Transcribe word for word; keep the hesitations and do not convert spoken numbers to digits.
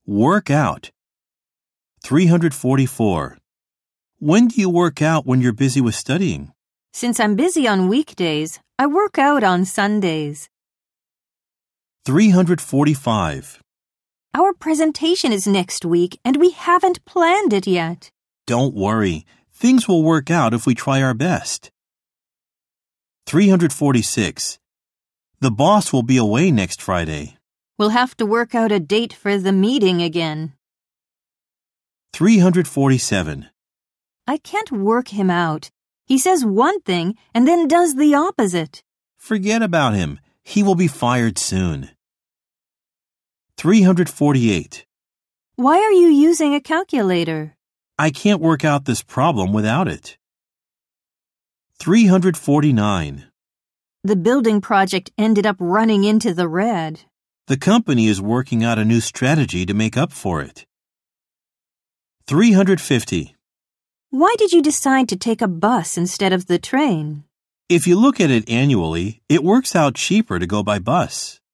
Work out. three hundred forty-four. When do you work out when you're busy with studying? Since I'm busy on weekdays, I work out on Sundays. three hundred forty-five. Our presentation is next week and we haven't planned it yet. Don't worry. Things will work out if we try our best. three hundred forty-six. The boss will be away next Friday. We'll have to work out a date for the meeting again. three hundred forty-seven. I can't work him out. He says one thing and then does the opposite. Forget about him. He will be fired soon. three hundred forty-eight. Why are you using a calculator? I can't work out this problem without it. three hundred forty-nine. The building project ended up running into the red. The company is working out a new strategy to make up for it. three hundred fifty. Why did you decide to take a bus instead of the train? If you look at it annually, it works out cheaper to go by bus.